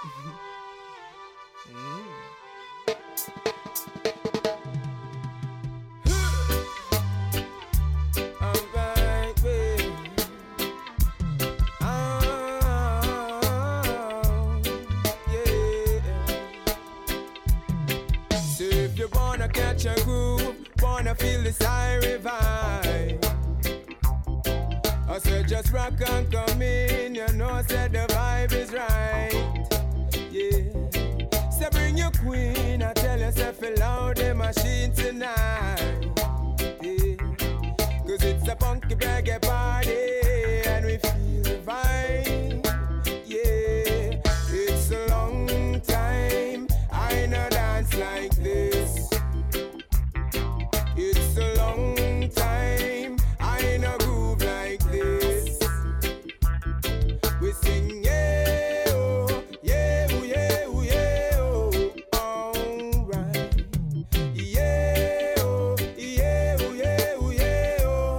Catch a groove, wanna feel the siren vibe. I said just rock and come in, you know, said the vibe is right. Yeah, so bring your queen, I tell yourself loud the machine tonight. Yeah, cause it's a funky reggae party and we feel the vibe. Yeah, it's a long time I no dance like this. It's a long time I no groove like this. We sing yeah oh, yeah oh, yeah oh, yeah oh, alright. Yeah oh, yeah oh, yeah oh, yeah oh.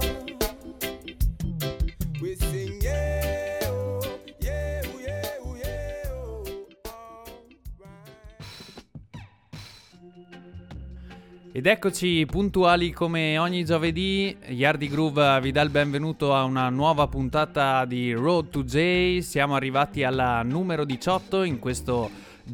We sing yeah oh, yeah oh, yeah oh, yeah oh, alright. Ed eccoci puntuali come ogni giovedì. Yardi Groove vi dà il benvenuto a una nuova puntata di Road to J. Siamo arrivati alla numero 18 in questo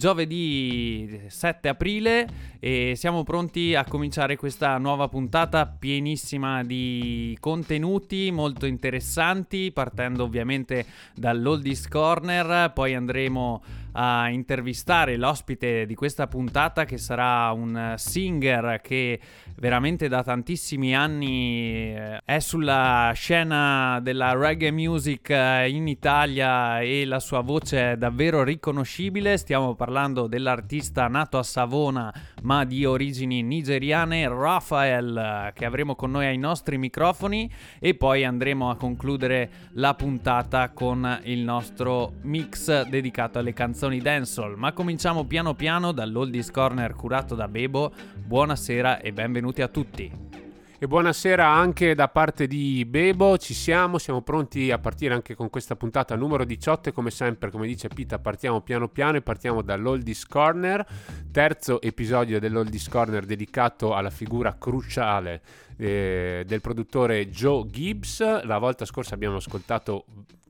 giovedì 7 aprile e siamo pronti a cominciare questa nuova puntata pienissima di contenuti molto interessanti, partendo ovviamente dall'Oldies Corner. Poi andremo a intervistare l'ospite di questa puntata, che sarà un singer che veramente da tantissimi anni è sulla scena della reggae music in Italia e la sua voce è davvero riconoscibile. Stiamo parlando dell'artista nato a Savona ma di origini nigeriane, Raphael, che avremo con noi ai nostri microfoni, e poi andremo a concludere la puntata con il nostro mix dedicato alle canzoni dancehall. Ma cominciamo piano piano dall'Oldies Corner curato da Bebo. Buonasera e benvenuti a tutti. E buonasera anche da parte di Bebo, siamo pronti a partire anche con questa puntata numero 18 e come sempre, come dice Pita, partiamo piano piano e partiamo dall'Oldies Corner, terzo episodio dell'Oldies Corner dedicato alla figura cruciale del produttore Joe Gibbs. La volta scorsa abbiamo ascoltato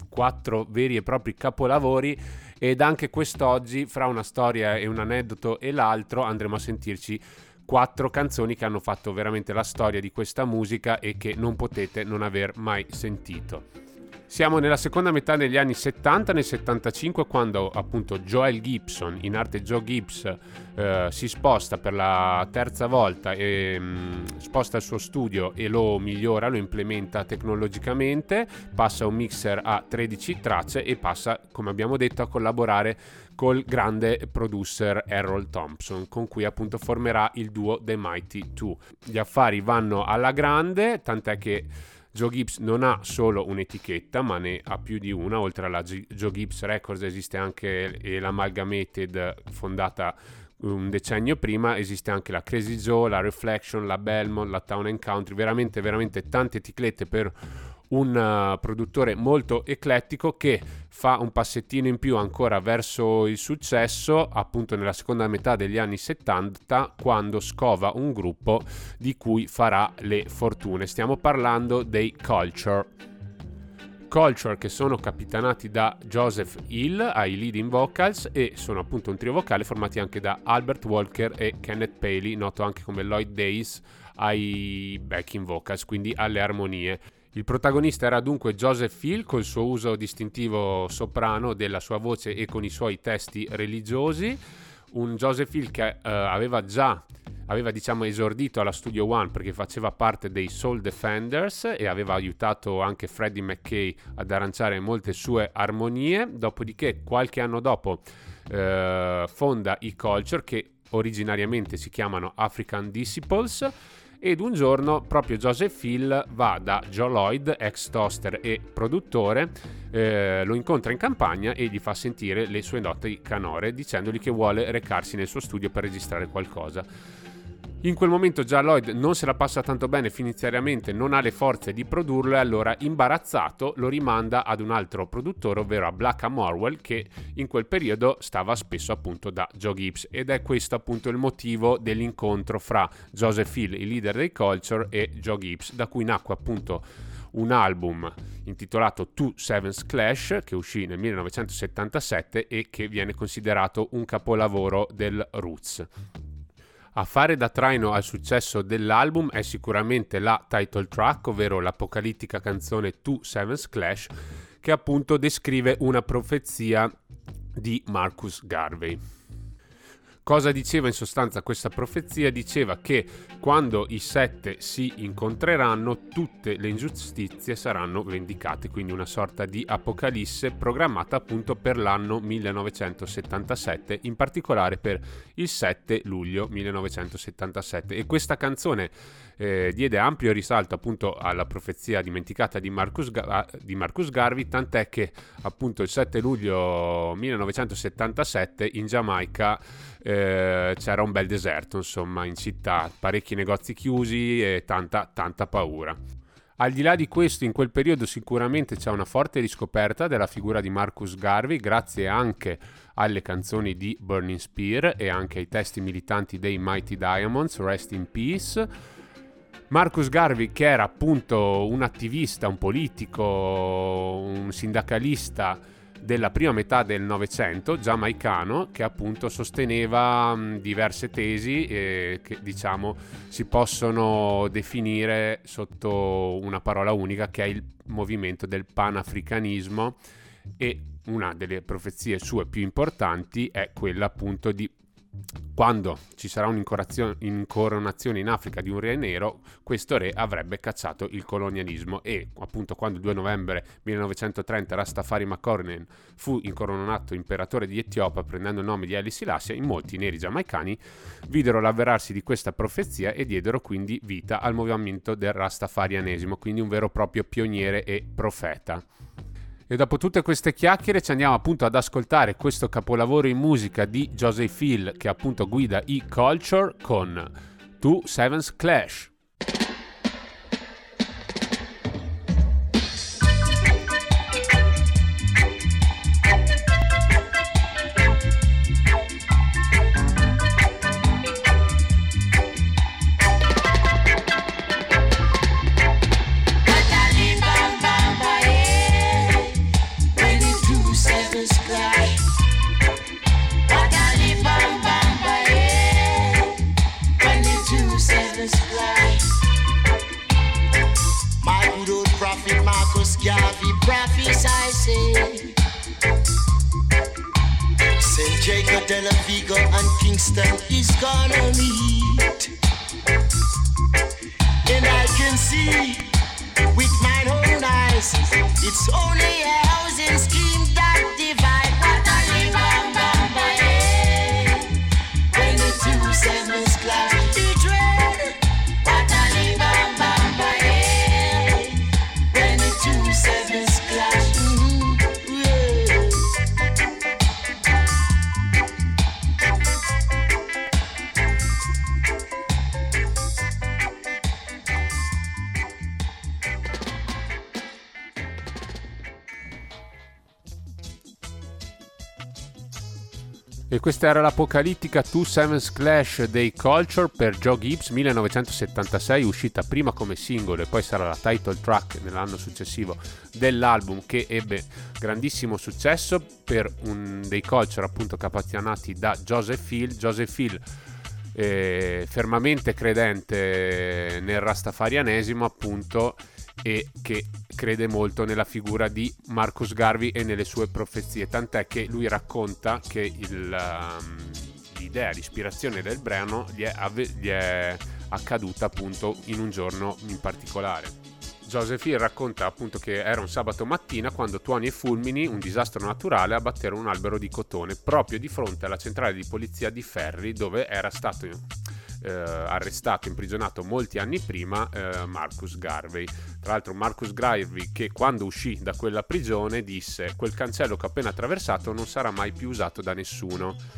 4 veri e propri capolavori ed anche quest'oggi, fra una storia e un aneddoto e l'altro, andremo a sentirci 4 canzoni che hanno fatto veramente la storia di questa musica e che non potete non aver mai sentito. Siamo nella seconda metà degli anni 70, nel 75, quando appunto Joel Gibson, in arte Joe Gibbs, si sposta per la terza volta e sposta il suo studio e lo migliora, lo implementa tecnologicamente, passa un mixer a 13 tracce e passa, come abbiamo detto, a collaborare col grande producer Errol Thompson, con cui appunto formerà il duo The Mighty Two. Gli affari vanno alla grande, tant'è che Joe Gibbs non ha solo un'etichetta, ma ne ha più di una. Oltre alla Joe Gibbs Records esiste anche l'Amalgamated, fondata un decennio prima, esiste anche la Crazy Joe, la Reflection, la Belmont, la Town & Country, veramente tante etichette per un produttore molto eclettico che fa un passettino in più ancora verso il successo appunto nella seconda metà degli anni 70, quando scova un gruppo di cui farà le fortune. Stiamo parlando dei Culture, che sono capitanati da Joseph Hill ai leading vocals e sono appunto un trio vocale formati anche da Albert Walker e Kenneth Paley, noto anche come Lloyd Days, ai backing vocals, quindi alle armonie. Il protagonista era dunque Joseph Hill, col suo uso distintivo soprano della sua voce e con i suoi testi religiosi. Un Joseph Hill che aveva diciamo esordito alla Studio One perché faceva parte dei Soul Defenders e aveva aiutato anche Freddie McKay ad arrangiare molte sue armonie. Dopodiché, qualche anno dopo, fonda i Culture, che originariamente si chiamano African Disciples. Ed un giorno proprio Joseph Hill va da Joe Lloyd, ex toaster e produttore, lo incontra in campagna e gli fa sentire le sue note canore, dicendogli che vuole recarsi nel suo studio per registrare qualcosa. In quel momento già Lloyd non se la passa tanto bene finanziariamente, non ha le forze di produrlo e allora, imbarazzato, lo rimanda ad un altro produttore, ovvero a Black and Morwell, che in quel periodo stava spesso appunto da Joe Gibbs, ed è questo appunto il motivo dell'incontro fra Joseph Hill, il leader dei Culture, e Joe Gibbs, da cui nacque appunto un album intitolato Two Sevens Clash, che uscì nel 1977 e che viene considerato un capolavoro del roots. A fare da traino al successo dell'album è sicuramente la title track, ovvero l'apocalittica canzone Two Sevens Clash, che appunto descrive una profezia di Marcus Garvey. Cosa diceva in sostanza questa profezia? Diceva che quando i 7 si incontreranno tutte le ingiustizie saranno vendicate, quindi una sorta di apocalisse programmata appunto per l'anno 1977, in particolare per il 7 luglio 1977, e questa canzone diede ampio risalto appunto alla profezia dimenticata di Marcus Garvey, tant'è che appunto il 7 luglio 1977 in Giamaica c'era un bel deserto, insomma, in città, parecchi negozi chiusi e tanta paura. Al di là di questo, in quel periodo sicuramente c'è una forte riscoperta della figura di Marcus Garvey, grazie anche alle canzoni di Burning Spear e anche ai testi militanti dei Mighty Diamonds, Rest in Peace. Marcus Garvey, che era appunto un attivista, un politico, un sindacalista della prima metà del Novecento, giamaicano, che appunto sosteneva diverse tesi che diciamo si possono definire sotto una parola unica, che è il movimento del panafricanismo, e una delle profezie sue più importanti è quella appunto di quando ci sarà un'incoronazione in Africa di un re nero, questo re avrebbe cacciato il colonialismo, e appunto quando il 2 novembre 1930 Rastafari Makonnen fu incoronato imperatore di Etiopia prendendo il nome di Haile Selassie, in molti neri giamaicani videro l'avverarsi di questa profezia e diedero quindi vita al movimento del Rastafarianesimo, quindi un vero e proprio pioniere e profeta. E dopo tutte queste chiacchiere ci andiamo appunto ad ascoltare questo capolavoro in musica di Joseph Hill, che appunto guida i Culture, con Two Sevens Clash. Jacob de la Vigo and Kingston is gonna meet, and I can see with my own eyes it's only a housing scheme that divide. What a bam bam bam, when the two sevens clash, the dread. What a bam bam bam, when the two sevens clash. E questa era l'apocalittica Two Sevens Clash dei Culture per Joe Gibbs 1976, uscita prima come singolo e poi sarà la title track nell'anno successivo dell'album, che ebbe grandissimo successo per un dei Culture appunto capitaneati da Joseph Hill. Joseph Hill fermamente credente nel rastafarianesimo appunto, e che crede molto nella figura di Marcus Garvey e nelle sue profezie, tant'è che lui racconta che l'idea, l'ispirazione del brano gli è accaduta appunto in un giorno in particolare. Joseph Hill racconta appunto che era un sabato mattina quando tuoni e fulmini, un disastro naturale, abbatterono un albero di cotone proprio di fronte alla centrale di polizia di Ferry, dove era stato arrestato, imprigionato molti anni prima Marcus Garvey. Tra l'altro Marcus Garvey, che quando uscì da quella prigione disse: quel cancello che ho appena attraversato non sarà mai più usato da nessuno.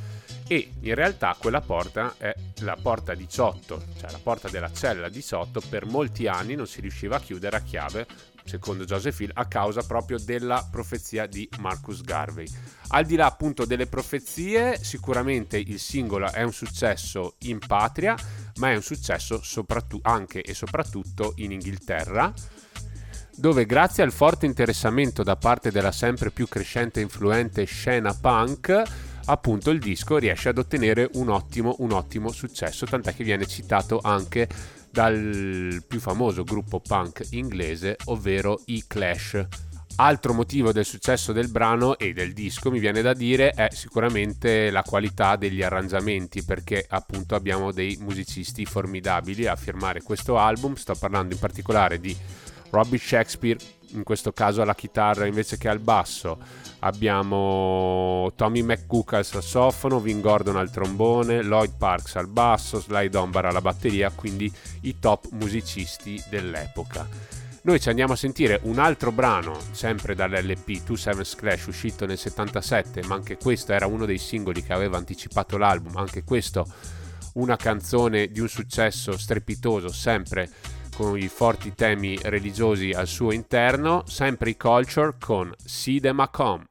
e in realtà quella porta è la porta 18, cioè la porta della cella 18. Per molti anni non si riusciva a chiudere a chiave, secondo Joseph Hill, a causa proprio della profezia di Marcus Garvey. Al di là appunto delle profezie, sicuramente il singolo è un successo in patria, ma è un successo anche e soprattutto in Inghilterra, dove grazie al forte interessamento da parte della sempre più crescente e influente scena punk, appunto il disco riesce ad ottenere un ottimo successo, tant'è che viene citato anche dal più famoso gruppo punk inglese, ovvero i Clash. Altro motivo del successo del brano e del disco, mi viene da dire, è sicuramente la qualità degli arrangiamenti, perché appunto abbiamo dei musicisti formidabili a firmare questo album. Sto parlando in particolare di Robbie Shakespeare, in questo caso alla chitarra invece che al basso, abbiamo Tommy McCook al sassofono, Vin Gordon al trombone, Lloyd Parks al basso, Sly Dunbar alla batteria, quindi i top musicisti dell'epoca. Noi ci andiamo a sentire un altro brano, sempre dall'LP 27 Clash, uscito nel 77, ma anche questo era uno dei singoli che aveva anticipato l'album, anche questo una canzone di un successo strepitoso, sempre con i forti temi religiosi al suo interno, sempre i Culture con See Them A Come.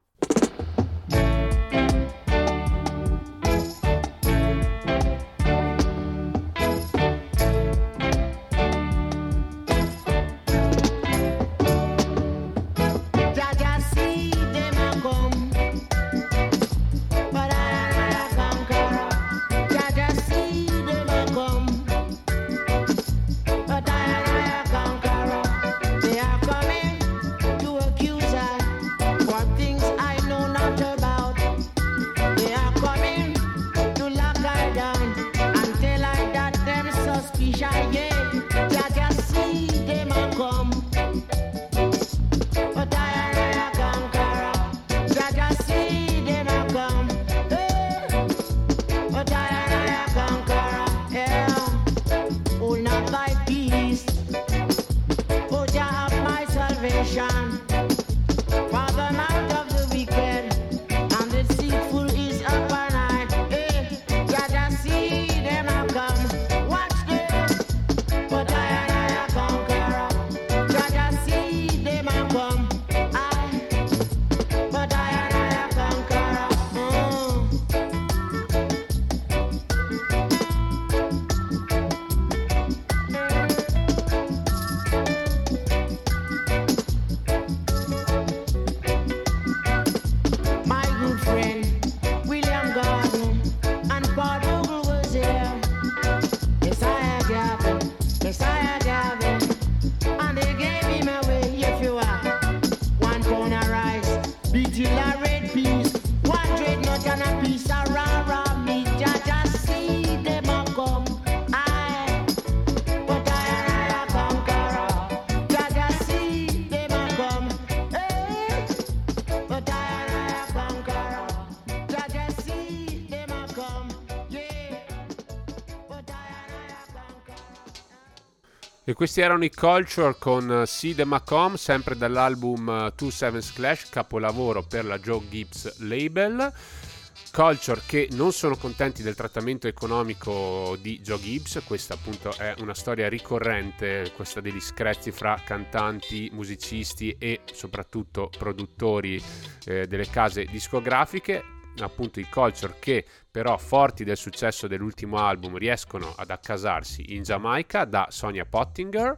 E questi erano i Culture con See Them A Come, sempre dall'album 27 Clash, capolavoro per la Joe Gibbs label. Culture che non sono contenti del trattamento economico di Joe Gibbs. Questa appunto è una storia ricorrente, questa degli screzi fra cantanti, musicisti e soprattutto produttori delle case discografiche. Appunto i Culture che però, forti del successo dell'ultimo album, riescono ad accasarsi in Giamaica da Sonia Pottinger,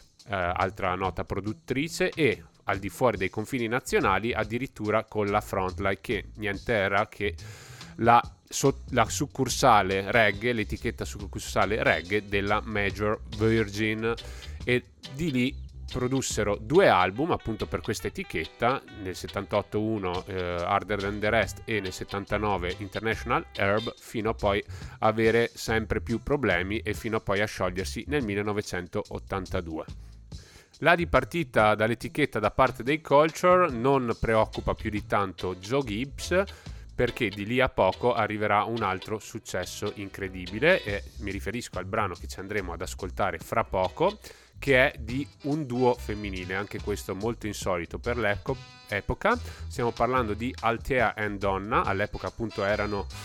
altra nota produttrice, e al di fuori dei confini nazionali addirittura con la Frontline, che niente era che la succursale reggae, l'etichetta succursale reggae della Major Virgin, e di lì produssero 2 album appunto per questa etichetta, nel 78 uno Harder Than the Rest e nel 79 International Herb, fino a poi avere sempre più problemi e fino a poi a sciogliersi nel 1982. La dipartita dall'etichetta da parte dei Culture non preoccupa più di tanto Joe Gibbs, perché di lì a poco arriverà un altro successo incredibile, e mi riferisco al brano che ci andremo ad ascoltare fra poco, che è di un duo femminile, anche questo molto insolito per l'epoca. Stiamo parlando di Althea and Donna, all'epoca appunto erano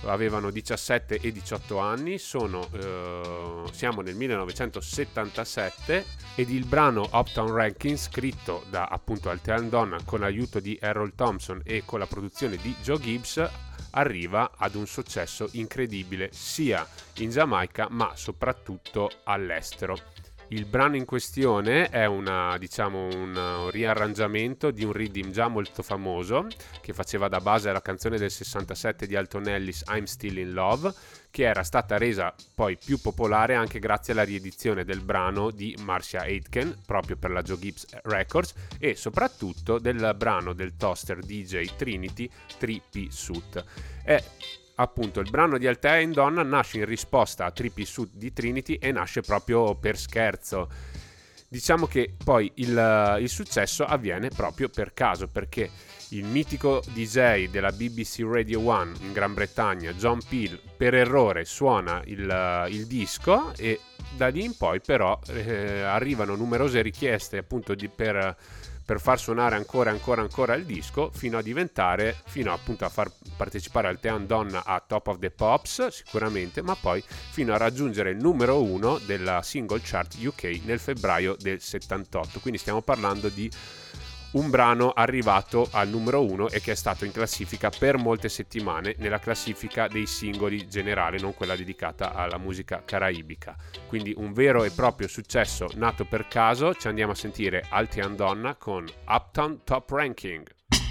avevano 17 e 18 anni, siamo nel 1977 ed il brano Uptown Ranking, scritto da appunto Althea and Donna con l'aiuto di Errol Thompson e con la produzione di Joe Gibbs, arriva ad un successo incredibile sia in Giamaica ma soprattutto all'estero. Il brano in questione è un riarrangiamento di un rhythm già molto famoso che faceva da base alla canzone del 67 di Alton Ellis, I'm Still in Love, che era stata resa poi più popolare anche grazie alla riedizione del brano di Marcia Aitken proprio per la Joe Gibbs Records e soprattutto del brano del toaster DJ Trinity 3P Suit. Appunto il brano di Althea and Donna nasce in risposta a 3P Suit di Trinity e nasce proprio per scherzo. Diciamo che poi il successo avviene proprio per caso, perché il mitico DJ della BBC Radio 1 in Gran Bretagna, John Peel, per errore suona il disco e da lì in poi però arrivano numerose richieste appunto per far suonare ancora il disco fino appunto a far partecipare Althea and Donna a Top of the Pops sicuramente, ma poi fino a raggiungere il numero 1 della single chart UK nel febbraio del 78. Quindi stiamo parlando di un brano arrivato al numero 1 e che è stato in classifica per molte settimane nella classifica dei singoli generale, non quella dedicata alla musica caraibica. Quindi un vero e proprio successo nato per caso. Ci andiamo a sentire Althea and Donna con Uptown Top Ranking.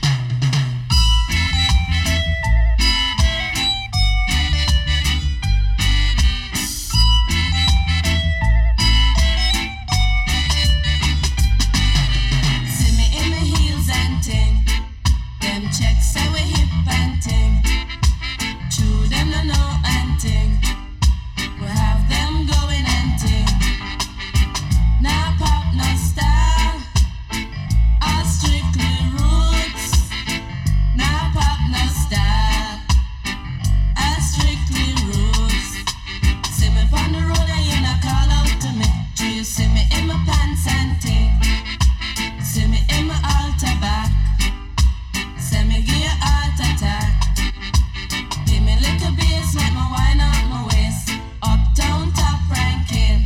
Checks how we hip and ting. True them no know and ting. We have them going and ting. Now pop no style. All strictly roots. Now pop no style. All strictly roots. See me on the road and you not call out to me. Do you see me in my pants and ting? See me in my altar back. Let me give you a heart attack. Give me a little bass, make me wind up my waist. Uptown top ranking.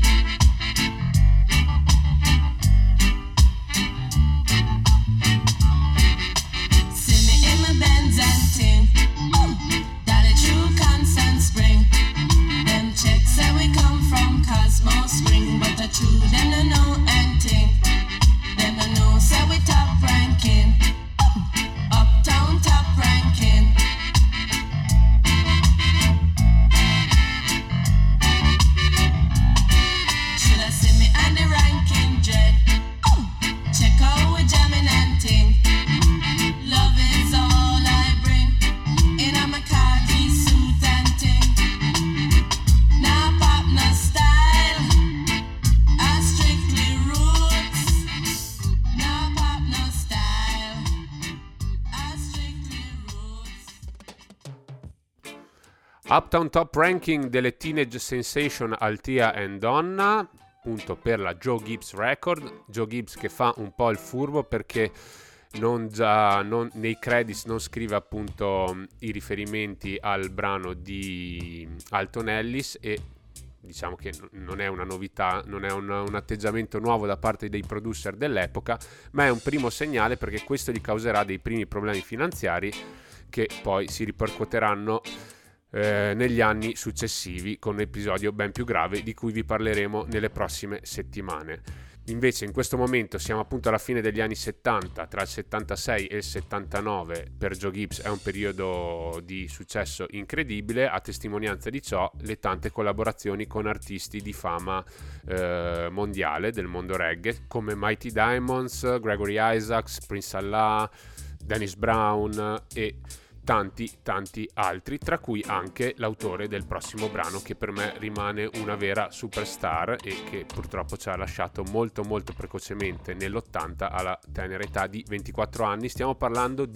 See me in my Benz and ting. Dolly True, Constant Spring. Them checks say we come from Cosmo Spring, but the true them no know and ting. Them no know say we top ranking. Uptown top ranking. Should I see me on the ranking dread? Check out we jamming and ting. Love is all I bring. In a my khaki suit and ting. Now pop no style. I strictly roots. Now pop no style. Uptown Top Ranking delle Teenage Sensation Althea and Donna, appunto per la Joe Gibbs Record. Joe Gibbs che fa un po' il furbo perché nei credits non scrive appunto i riferimenti al brano di Alton Ellis e diciamo che non è una novità, non è un atteggiamento nuovo da parte dei producer dell'epoca, ma è un primo segnale perché questo gli causerà dei primi problemi finanziari che poi si ripercuoteranno negli anni successivi con un episodio ben più grave di cui vi parleremo nelle prossime settimane. Invece in questo momento siamo appunto alla fine degli anni 70, tra il 76 e il 79 per Joe Gibbs è un periodo di successo incredibile, a testimonianza di ciò le tante collaborazioni con artisti di fama mondiale del mondo reggae come Mighty Diamonds, Gregory Isaacs, Prince Allah, Dennis Brown e tanti altri, tra cui anche l'autore del prossimo brano che per me rimane una vera superstar e che purtroppo ci ha lasciato molto precocemente nell'80 alla tenera età di 24 anni. Stiamo parlando di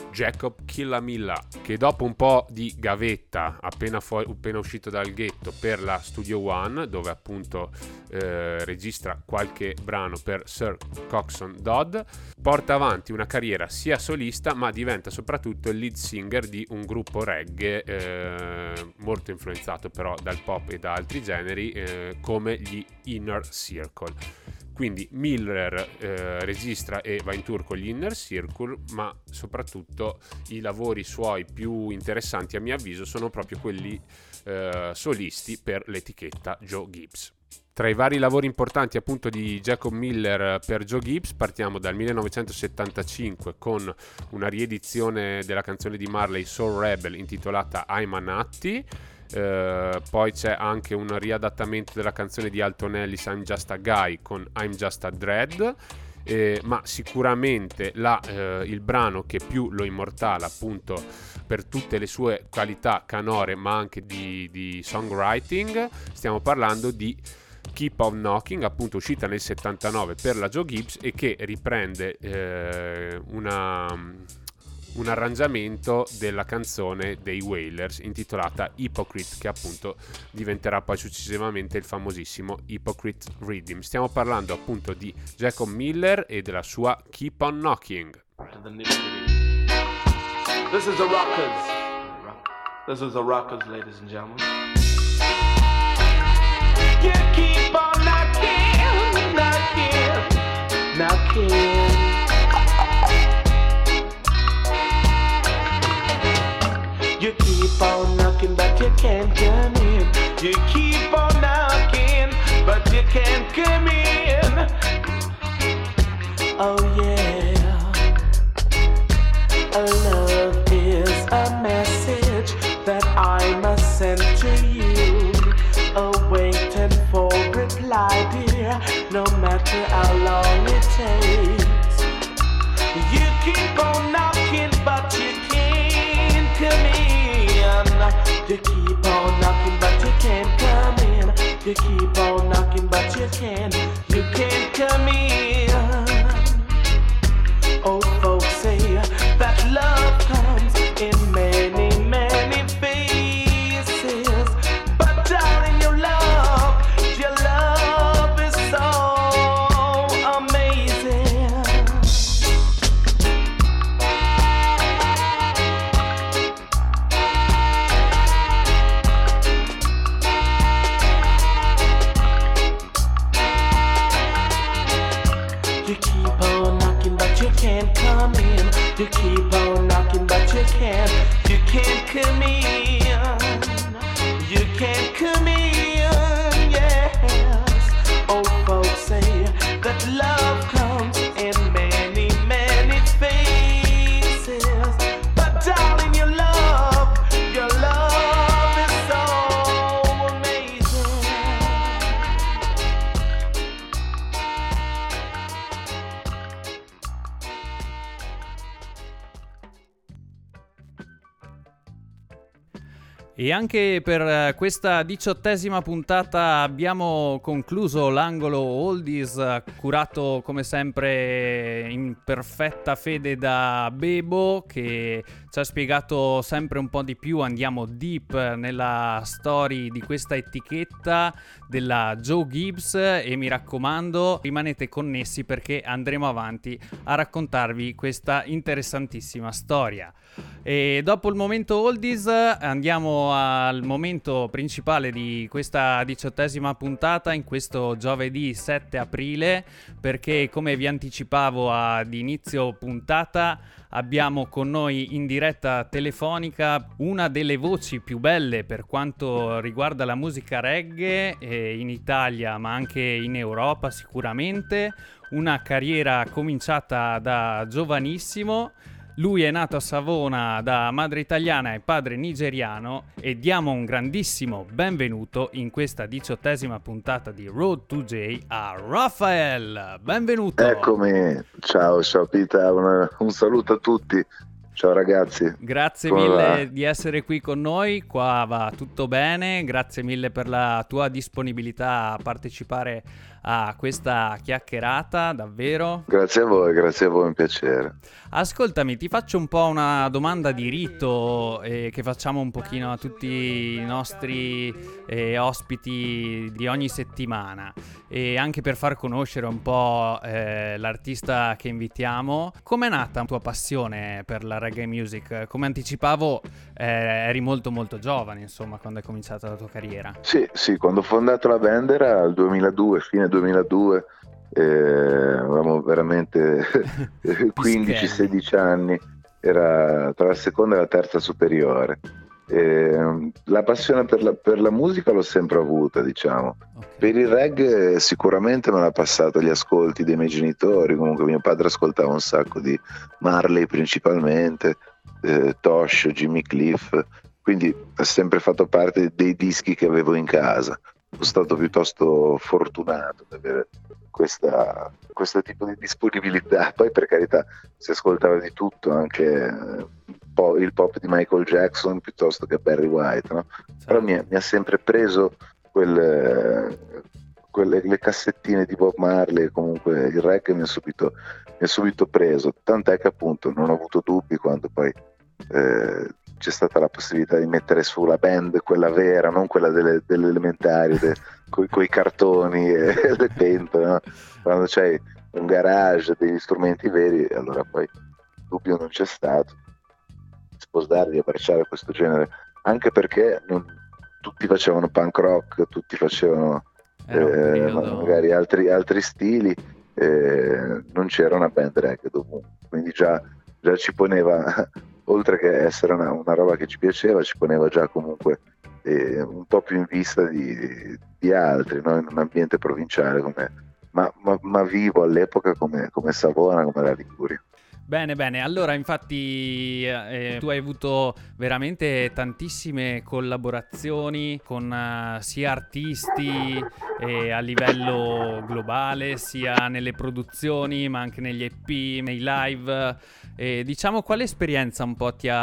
Jacob Killamilla, che dopo un po' di gavetta appena uscito dal ghetto per la Studio One, dove appunto registra qualche brano per Sir Coxsone Dodd, porta avanti una carriera sia solista, ma diventa soprattutto il lead singer di un gruppo reggae molto influenzato però dal pop e da altri generi, come gli Inner Circle. Quindi Miller registra e va in tour con gli Inner Circle, ma soprattutto i lavori suoi più interessanti a mio avviso sono proprio quelli solisti per l'etichetta Joe Gibbs. Tra i vari lavori importanti appunto di Jacob Miller per Joe Gibbs partiamo dal 1975 con una riedizione della canzone di Marley Soul Rebel intitolata I'm a Nutty. Poi c'è anche un riadattamento della canzone di Alton Ellis I'm Just a Guy con I'm Just a Dread, ma sicuramente il brano che più lo immortala appunto per tutte le sue qualità canore ma anche di songwriting, stiamo parlando di Keep on Knocking, appunto uscita nel 79 per la Joe Gibbs e che riprende un arrangiamento della canzone dei Wailers intitolata Hypocrite, che appunto diventerà poi successivamente il famosissimo Hypocrite Rhythm. Stiamo parlando appunto di Jacob Miller e della sua Keep on Knocking. This is the Rockers. This is the Rockers, ladies and gentlemen. You keep on knocking, knocking, knocking. You keep on knocking, but you can't come in. You keep on knocking, but you can't come in. Oh yeah. Love is a message that I must send to you. Waiting for reply, dear, no matter how long it takes. You keep on knocking, but you can't come in. You keep on knocking, but you can't come in. You keep on knocking, but you can't come in. Old folks say that love comes in many, many faces. But darling, your love is so amazing. You keep on knocking, but you can't come in. You keep on knocking, but you can't come in. You can't come in, yes. Old folks say that love comes in many, many faces. But darling, your love is so amazing. E anche per questa 18ª puntata abbiamo concluso l'angolo Oldies, curato come sempre in perfetta fede da Bebo, che ci ha spiegato sempre un po' di più. Andiamo deep nella story di questa etichetta della Joe Gibbs e mi raccomando rimanete connessi perché andremo avanti a raccontarvi questa interessantissima storia. E dopo il momento Oldies andiamo al momento principale di questa 18ª puntata in questo giovedì 7 aprile, perché come vi anticipavo ad inizio puntata abbiamo con noi in diretta telefonica una delle voci più belle per quanto riguarda la musica reggae in Italia ma anche in Europa sicuramente, una carriera cominciata da giovanissimo. Lui è nato a Savona da madre italiana e padre nigeriano e diamo un grandissimo benvenuto in questa 18ª puntata di Road to J a Raphael. Benvenuto. Eccomi, ciao Pita, un saluto a tutti. Ciao ragazzi. Grazie mille di essere qui con noi, qua va tutto bene, grazie mille per la tua disponibilità a partecipare a questa chiacchierata, davvero. Grazie a voi, un piacere. Ascoltami, ti faccio un po' una domanda di rito che facciamo un pochino a tutti i nostri ospiti di ogni settimana, e anche per far conoscere un po' l'artista che invitiamo. Com'è nata la tua passione per la reggae music? Come anticipavo, eri molto molto giovane, insomma, quando è cominciata la tua carriera. Sì, quando ho fondato la band era il 2002, fine 2002. Avevamo veramente 15-16 anni, era tra la seconda e la terza superiore. La passione per la musica l'ho sempre avuta, diciamo. Okay. Per il reggae sicuramente me l'ha passato gli ascolti dei miei genitori. Comunque mio padre ascoltava un sacco di Marley principalmente, Tosh, Jimmy Cliff, quindi ha sempre fatto parte dei dischi che avevo in casa. Sono stato piuttosto fortunato ad avere questo tipo di disponibilità. Poi, per carità, si ascoltava di tutto, anche il pop di Michael Jackson piuttosto che Barry White, no? Però mi ha sempre preso le cassettine di Bob Marley. Comunque il reggae mi ha subito preso, tant'è che appunto non ho avuto dubbi quando poi c'è stata la possibilità di mettere su la band, quella vera, non quella delle elementari, coi cartoni e le pentole, no? Quando c'hai un garage, degli strumenti veri, allora poi dubbio non c'è stato. Sposare, di abbracciare questo genere, anche perché tutti facevano punk rock, tutti facevano magari altri stili, non c'era una band reggae dovunque, quindi già ci poneva, oltre che essere una roba che ci piaceva, ci poneva già comunque un po' più in vista di altri, no? In un ambiente provinciale ma vivo all'epoca come Savona, come la Liguria. Bene, allora infatti tu hai avuto veramente tantissime collaborazioni con sia artisti a livello globale, sia nelle produzioni, ma anche negli EP, nei live. Diciamo, quale esperienza un po' ti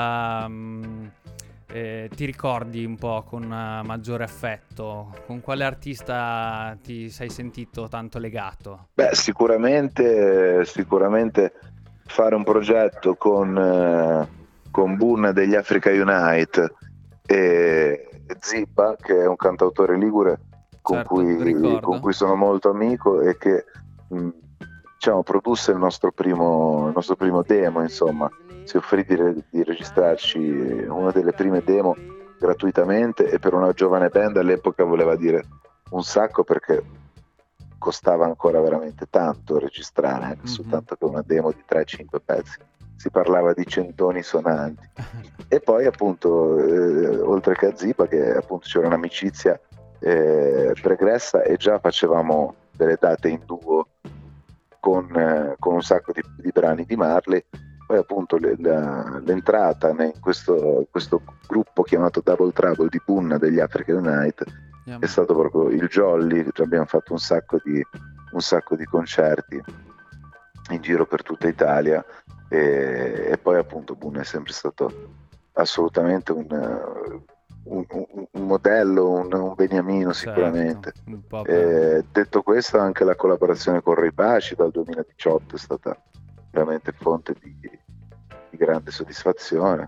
ricordi un po' con maggiore affetto? Con quale artista ti sei sentito tanto legato? Beh, sicuramente fare un progetto con Bunna degli Africa Unite e Zibba, che è un cantautore ligure con cui sono molto amico, e che diciamo produsse il nostro primo demo, insomma. Si offrì di registrarci una delle prime demo gratuitamente, e per una giovane band all'epoca voleva dire un sacco, perché costava ancora veramente tanto registrare, anche soltanto che una demo di 3-5 pezzi. Si parlava di centoni sonanti. E poi appunto oltre che a Ziba, che appunto c'era un'amicizia pregressa, e già facevamo delle date in duo con un sacco di brani di Marley. Poi appunto l'entrata in questo gruppo chiamato Double Trouble di Bunna degli Africa Unite è stato proprio il jolly. Abbiamo fatto un sacco di concerti in giro per tutta Italia, e poi appunto Bunna è sempre stato assolutamente un modello, un beniamino, sicuramente. Detto questo, anche la collaborazione con Ray Paci dal 2018 è stata veramente fonte di grande soddisfazione.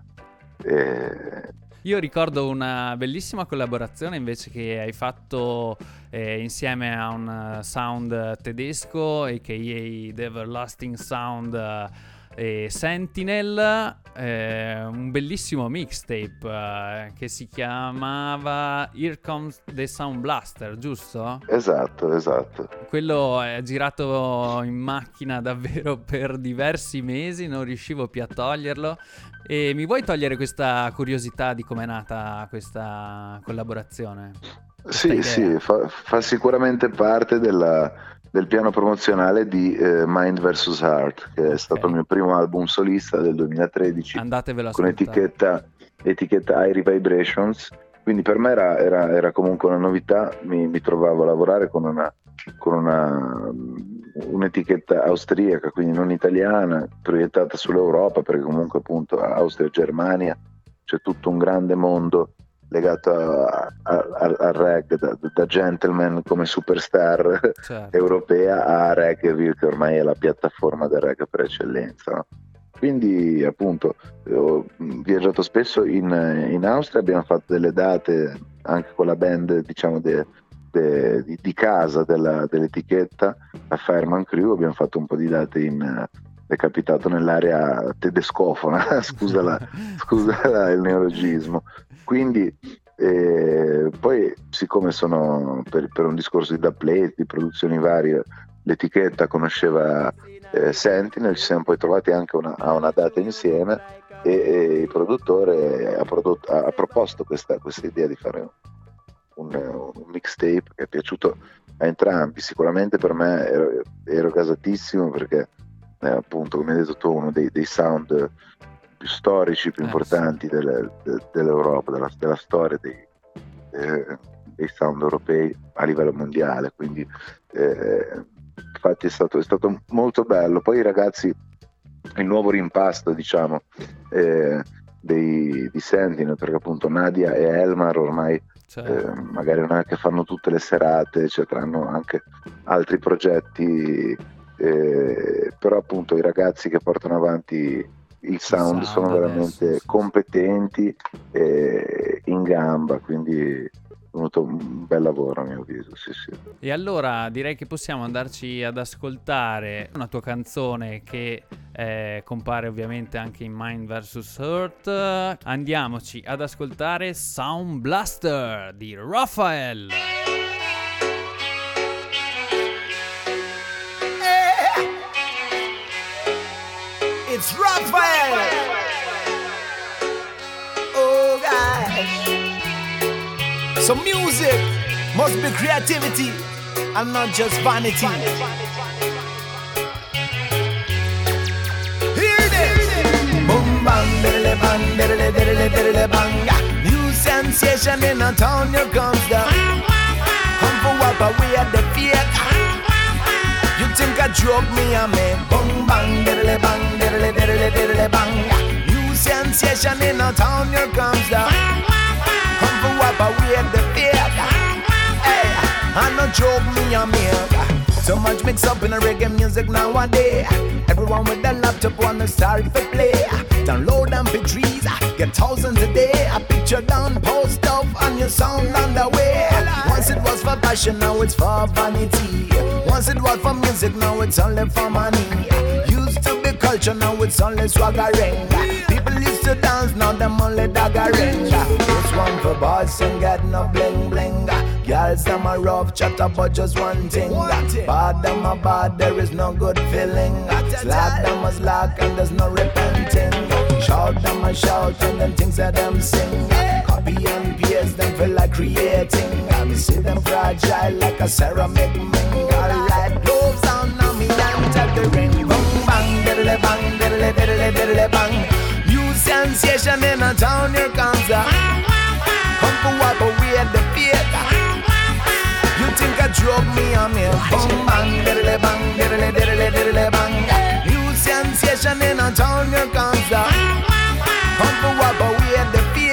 Io ricordo una bellissima collaborazione invece che hai fatto insieme a un sound tedesco, a.k.a. The Everlasting Sound, Sentinel, un bellissimo mixtape che si chiamava Here Comes the Sound Blaster, giusto? Esatto. Quello è girato in macchina davvero per diversi mesi, non riuscivo più a toglierlo. E mi vuoi togliere questa curiosità di com'è nata questa collaborazione? Sì, fa sicuramente parte del piano promozionale di Mind vs. Heart, che è stato il mio primo album solista del 2013. Andatevelo a con ascoltare. etichetta Airy Vibrations. Quindi per me era comunque una novità. Mi trovavo a lavorare con un'etichetta austriaca, quindi non italiana, proiettata sull'Europa, perché comunque appunto Austria e Germania c'è tutto un grande mondo legato al reggae, da gentleman come superstar europea a Reggaeville, che ormai è la piattaforma del reggae per eccellenza, no? Quindi appunto ho viaggiato spesso in Austria, abbiamo fatto delle date anche con la band, diciamo, di casa dell'etichetta, la Fireman Crew. Abbiamo fatto un po' di date è capitato nell'area tedescofona, scusa il neologismo. Quindi poi, siccome sono per un discorso di dubplate, di produzioni varie, l'etichetta conosceva Sentinel, ci siamo poi trovati anche a una data insieme, e il produttore ha proposto questa idea di fare un mixtape che è piaciuto a entrambi. Sicuramente per me ero gasatissimo, perché appunto, come hai detto tu, uno dei sound più storici, più importanti dell'Europa, della storia dei sound europei a livello mondiale. Quindi infatti è stato molto bello. Poi i ragazzi, il nuovo rimpasto, diciamo, di Sentinel, perché appunto Nadia e Elmar ormai magari non è che fanno tutte le serate, cioè hanno anche altri progetti, però appunto i ragazzi che portano avanti il sound sono veramente competenti e in gamba, quindi è venuto un bel lavoro a mio avviso, sì. E allora direi che possiamo andarci ad ascoltare una tua canzone che compare ovviamente anche in Mind vs Earth. Andiamoci ad ascoltare Sound Blaster di Raphael. It's Raphael. Oh gosh. So music must be creativity and not just vanity. Hear this. Boom bang, diddly bang, diddly diddly diddly bang. New sensation in a town, here comes the come for wipe away the fear. You think I drug me and me boom bang, diddly bang, diddly diddly diddly bang. New sensation in a town, here comes the come for wipe away the fear. Hey, I no joke me and me. So much mix up in the reggae music nowadays. Everyone with their laptop wanna start to play. Download MP3s, get thousands a day. A picture down, post up, and your sound on the way. Once it was for passion, now it's for vanity. Once it was for music, now it's only for money. Used to be culture, now it's only swaggering. People used to dance, now them only daggering. This one for boss and get no bling bling. Girls, them a rough chat about just one thing. Bad, them a bad, there is no good feeling. Slack, them a slack, and there's no repenting. Shout, them a shout, and them things that them sing. Copy and paste, them feel like creating. I see them fragile like a ceramic ring. Alright, gloves on, now me and tap the ring. Boom, bang, diddly bang, diddly diddly diddly bang. New sensation in a town, here comes the come for wipe away the fear. You think I drug me on me? Boom bang, diddly bang, diddly diddly diddly bang. New sensation in a town, here comes the come for wipe away the fear.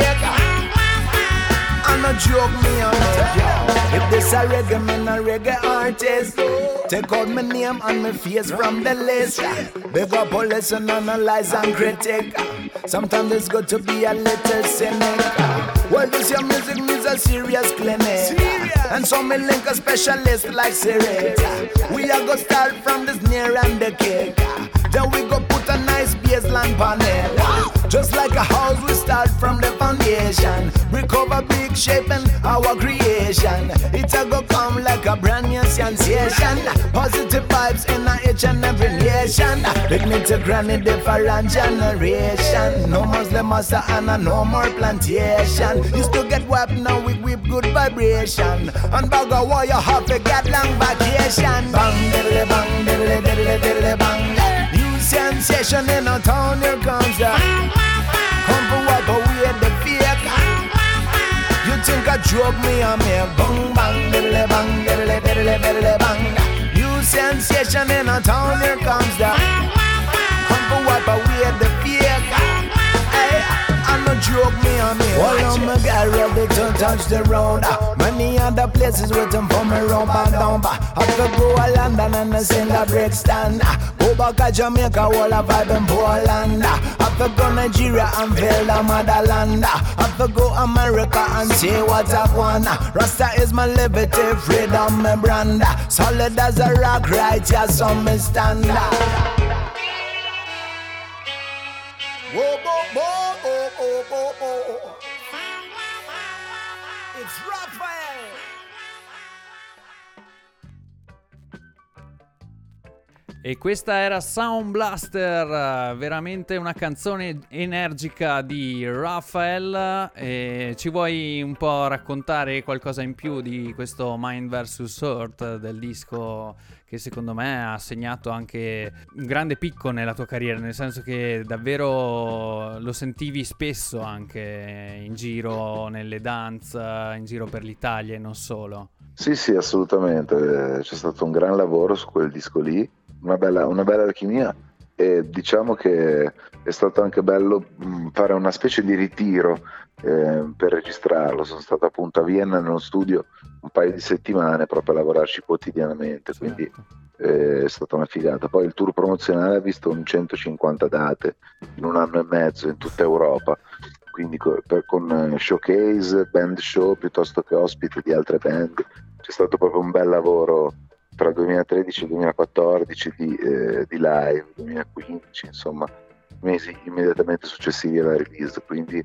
And a drug me on me. If this a reggae man, a reggae artist, take out my name and my face from the list. Big up all listen, analyze and critic. Sometimes it's good to be a little cynic. Well, this your music needs a serious clinic. And so me link a specialist like Siri. We are gonna start from the snare and the kick. Then we go put a nice bassline on it. Just like a house, we start from the foundation. Recover big shape and our creation. It'll go come like a brand new sensation. Positive vibes in each and every nation. Dignity granted different generation. No Muslim master and no more plantation. Used to get wiped, now we whip good vibration. And bag of war, you have to get long vacation. Bang, diddly bang, diddly diddly diddly bang. New sensation in a town, here comes the come for wipe away the fear. You think I drug me on me? Boom bang, diddly bang, diddly diddly diddly bang. New sensation in a town, here comes the come for wipe away the fear. Hey, I'm not drug broke me on me. Well, I'm a guy ready to touch the road. Many other places waiting for me round and down. I could go to London and sing a break stand. Go back to Jamaica, all a vibe in Poland. I could go Nigeria and feel the motherland. I could go America and see what I want. Rasta is my liberty, freedom, my brand. Solid as a rock, right here, so me stand. Whoa, whoa, whoa, whoa, whoa, whoa, whoa. It's Raphael. E questa era Sound Blaster, veramente una canzone energica di Raphael. E ci vuoi un po' raccontare qualcosa in più di questo Mind vs. Earth, del disco che secondo me ha segnato anche un grande picco nella tua carriera, nel senso che davvero lo sentivi spesso anche in giro nelle dance, in giro per l'Italia e non solo. Sì, sì, assolutamente. C'è stato un gran lavoro su quel disco lì, una bella alchimia, e diciamo che è stato anche bello fare una specie di ritiro per registrarlo. Sono stato appunto a Vienna nello studio un paio di settimane proprio a lavorarci quotidianamente, quindi è stata una figata. Poi il tour promozionale ha visto un 150 date in un anno e mezzo in tutta Europa, quindi con showcase, band show piuttosto che ospite di altre band. C'è stato proprio un bel lavoro tra 2013 e 2014 di live, 2015, insomma mesi immediatamente successivi alla release, quindi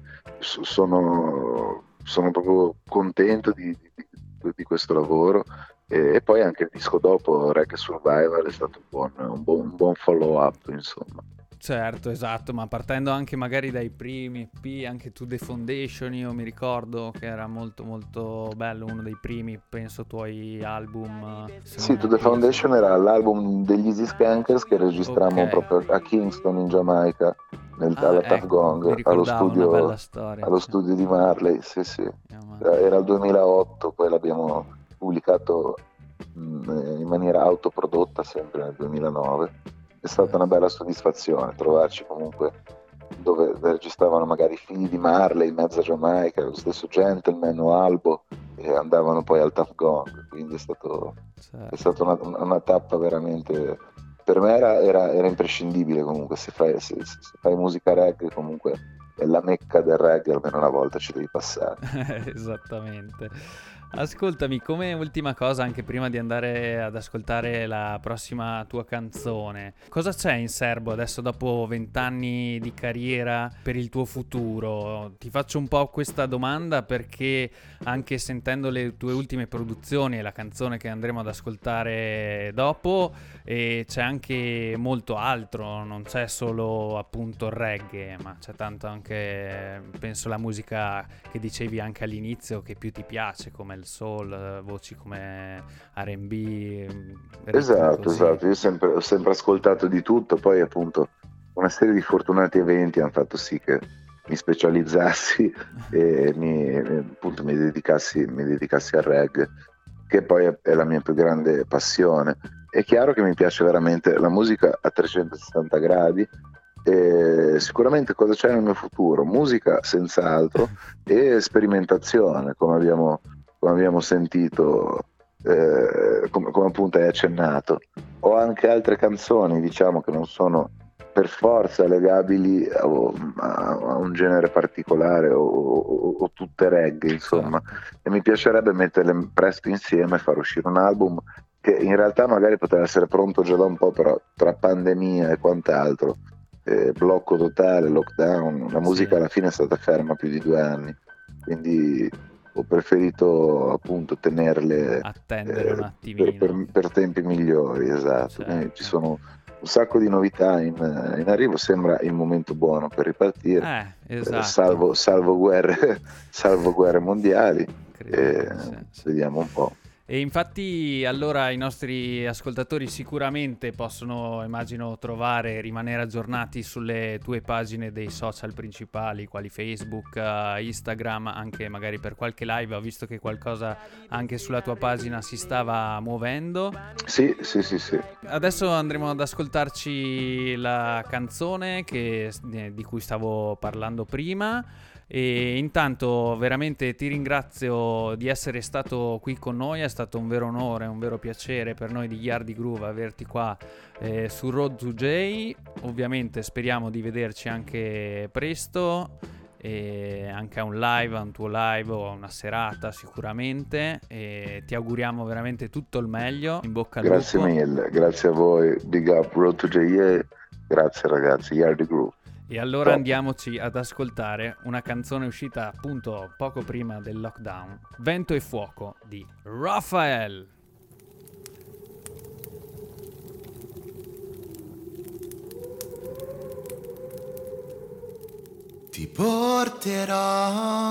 sono proprio contento di questo lavoro, e poi anche il disco dopo, Reggae Survival, è stato un buon follow up, insomma. Certo, esatto, ma partendo anche magari dai primi EP, anche To The Foundation, io mi ricordo che era molto molto bello, uno dei primi, penso, tuoi album. Sì, To The Foundation era l'album degli Easy Skankers che registrammo proprio a Kingston in Giamaica, alla Tuff Gong, allo studio di Marley, sì. Era il 2008, poi l'abbiamo pubblicato in maniera autoprodotta sempre nel 2009. È stata una bella soddisfazione trovarci comunque dove registravano magari figli di Marley in mezzo a Giamaica, lo stesso Gentleman o Albo, e andavano poi al Tuff Gong, quindi è stata una tappa veramente, per me era imprescindibile. Comunque se fai musica reggae, comunque è la mecca del reggae, almeno una volta ci devi passare. Esattamente. Ascoltami, come ultima cosa, anche prima di andare ad ascoltare la prossima tua canzone, cosa c'è in serbo adesso dopo 20 anni di carriera per il tuo futuro? Ti faccio un po' questa domanda perché anche sentendo le tue ultime produzioni e la canzone che andremo ad ascoltare dopo, c'è anche molto altro, non c'è solo appunto il reggae, ma c'è tanto anche, penso, la musica che dicevi anche all'inizio che più ti piace, come il soul, voci come R&B. Esatto, io ho sempre ascoltato di tutto, poi appunto una serie di fortunati eventi hanno fatto sì che mi specializzassi e mi dedicassi al reggae, che poi è la mia più grande passione. È chiaro che mi piace veramente la musica a 360 gradi, e sicuramente cosa c'è nel mio futuro? Musica senz'altro, e sperimentazione, come abbiamo sentito, come appunto hai accennato. Ho anche altre canzoni, diciamo, che non sono per forza legabili a un genere particolare o tutte reggae, insomma, e mi piacerebbe metterle presto insieme e far uscire un album che in realtà magari poteva essere pronto già da un po', però tra pandemia e quant'altro, blocco totale, lockdown, la musica alla fine è stata ferma più di 2 anni, quindi ho preferito appunto tenerle, attendere un attimino per tempi migliori, esatto. Quindi ci sono un sacco di novità in arrivo, sembra il momento buono per ripartire, esatto. salvo guerre mondiali, vediamo un po'. E infatti allora i nostri ascoltatori sicuramente possono, immagino, trovare e rimanere aggiornati sulle tue pagine dei social principali, quali Facebook, Instagram, anche magari per qualche live. Ho visto che qualcosa anche sulla tua pagina si stava muovendo. Sì. Adesso andremo ad ascoltarci la canzone di cui stavo parlando prima. E intanto veramente ti ringrazio di essere stato qui con noi, è stato un vero onore, un vero piacere per noi di Yardi Groove averti qua su Road to J. Ovviamente speriamo di vederci anche presto, e anche a un tuo live o a una serata sicuramente, e ti auguriamo veramente tutto il meglio, in bocca al lupo. Grazie mille, grazie a voi, big up Road to J, grazie ragazzi, Yardi Groove. E allora andiamoci ad ascoltare una canzone uscita appunto poco prima del lockdown, Vento e Fuoco di Raphael. Ti porterò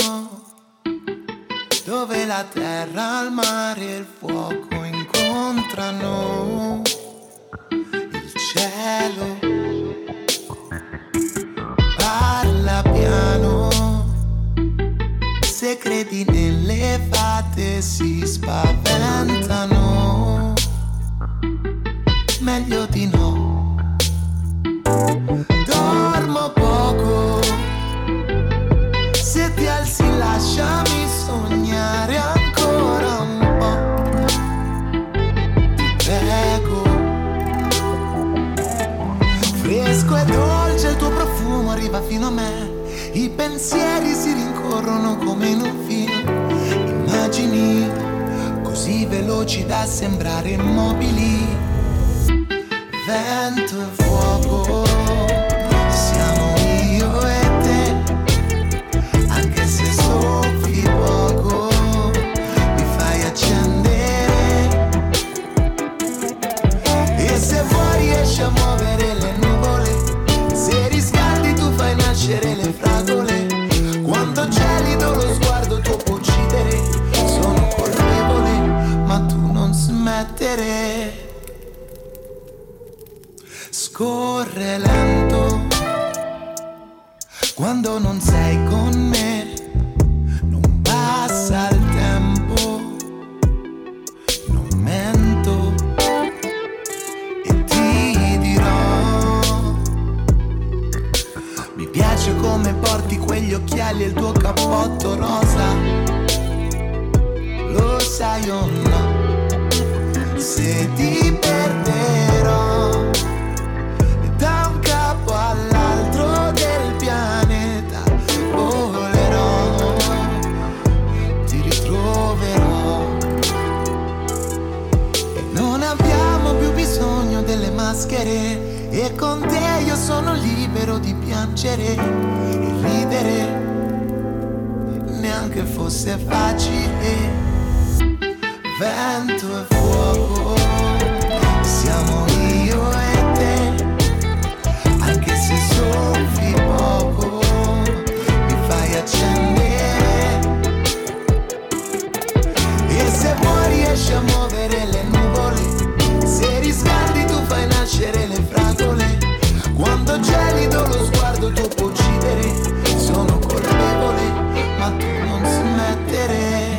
dove la terra, il mare e il fuoco incontrano il cielo. Parla piano, se credi nelle fate si spaventano, meglio di no. Dormo poco, se ti alzi lasciami sognare ancora un po', ti prego. Fresco e dolce il tuo profumo arriva fino a me, i pensieri si rincorrono come in un film, immagini così veloci da sembrare immobili. Vento e fuoco, siamo io e te, anche se soffi poco mi fai accendere, e se vuoi riesci a muovere le nuvole, se riscaldi tu fai nascere le fragole, quanto gelido lo sguardo tuo può uccidere, sono colpevole ma tu non smettere. Scorre lento quando non sei con me, non passa il tempo, non mento e ti dirò, mi piace come porti quegli occhiali e il tuo cappotto rosa, lo sai o no, se ti perderò da un capo all'altro del pianeta volerò, ti ritroverò, e non abbiamo più bisogno delle maschere, e con te io sono libero di piangere e ridere, neanche fosse facile. Vento e fuoco, siamo io e te, anche se soffi poco mi fai accendere, e se vuoi riesci a muovere le nuvole, se riscaldi tu fai nascere le fragole, quando gelido lo sguardo tuo può uccidere, sono colpevole ma tu non smettere.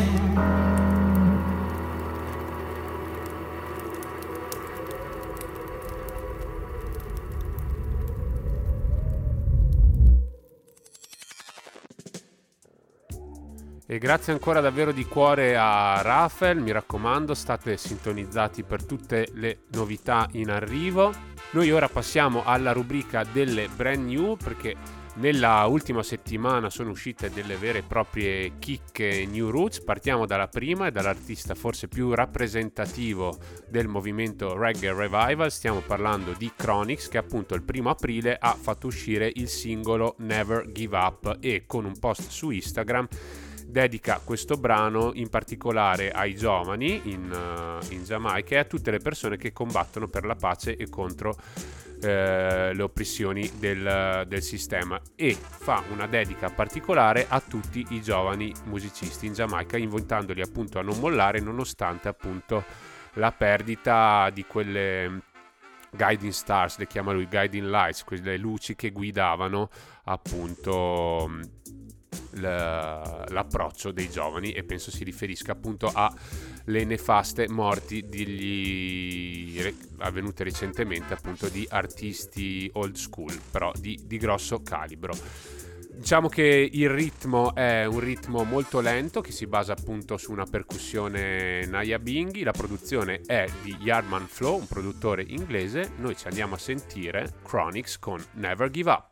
E grazie ancora davvero di cuore a Raphael, mi raccomando state sintonizzati per tutte le novità in arrivo. Noi ora passiamo alla rubrica delle brand new, perché nella ultima settimana sono uscite delle vere e proprie chicche new roots. Partiamo dalla prima e dall'artista forse più rappresentativo del movimento Reggae Revival, stiamo parlando di Chronixx, che appunto il 1 aprile ha fatto uscire il singolo Never Give Up, e con un post su Instagram dedica questo brano in particolare ai giovani in Giamaica e a tutte le persone che combattono per la pace e contro le oppressioni del sistema, e fa una dedica particolare a tutti i giovani musicisti in Giamaica, invitandoli appunto a non mollare nonostante appunto la perdita di quelle guiding stars, le chiama lui, guiding lights, quelle luci che guidavano appunto l'approccio dei giovani, e penso si riferisca appunto alle nefaste morti avvenute recentemente appunto di artisti old school, però di grosso calibro. Diciamo che il ritmo è un ritmo molto lento che si basa appunto su una percussione Nyabinghi. La produzione è di Yardman Flow, un produttore inglese. Noi ci andiamo a sentire Chronixx con Never Give Up.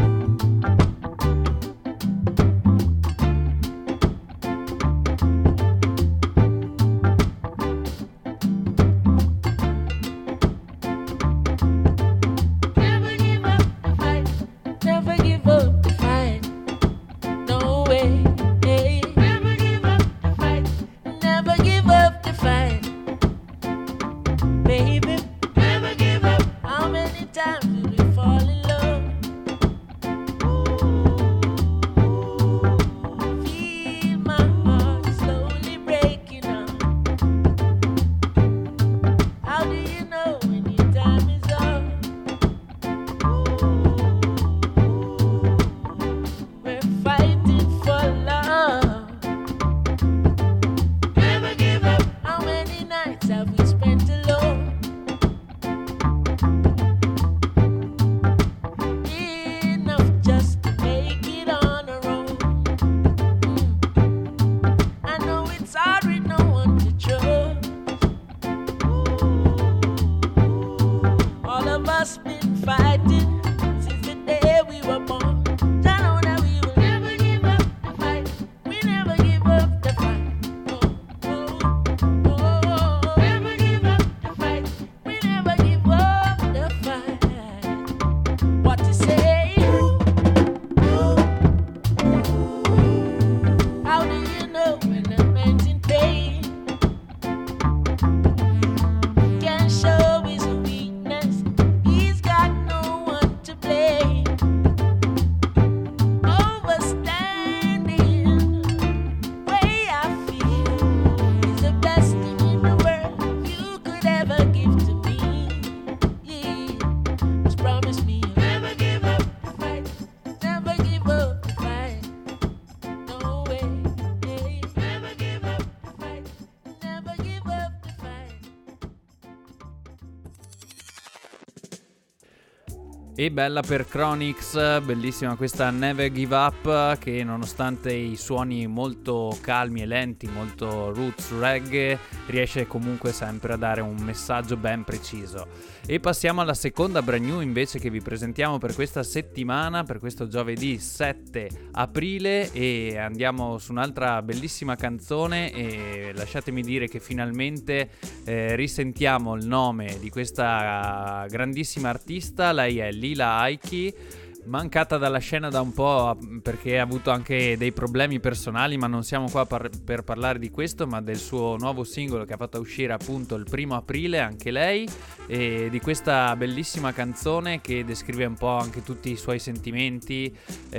E bella per Chronixx, bellissima questa Never Give Up, che nonostante i suoni molto calmi e lenti, molto roots reggae, riesce comunque sempre a dare un messaggio ben preciso. E passiamo alla seconda brand new invece che vi presentiamo per questa settimana, per questo giovedì 7 aprile, e andiamo su un'altra bellissima canzone. E lasciatemi dire che finalmente risentiamo il nome di questa grandissima artista. Lei è Lila Iké, mancata dalla scena da un po' perché ha avuto anche dei problemi personali, ma non siamo qua per parlare di questo, ma del suo nuovo singolo che ha fatto uscire appunto il 1 aprile, anche lei, e di questa bellissima canzone che descrive un po' anche tutti i suoi sentimenti.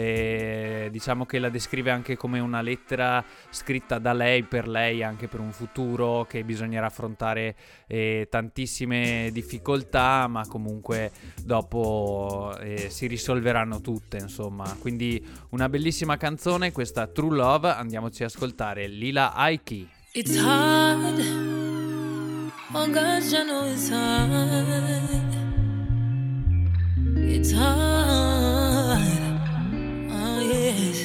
Diciamo che la descrive anche come una lettera scritta da lei per lei, anche per un futuro che bisognerà affrontare tantissime difficoltà, ma comunque dopo si risolveranno tutte, insomma. Quindi una bellissima canzone, questa True Love. Andiamoci a ascoltare Lila Iké. It's hard, oh gosh, I know it's hard. It's hard, oh yes.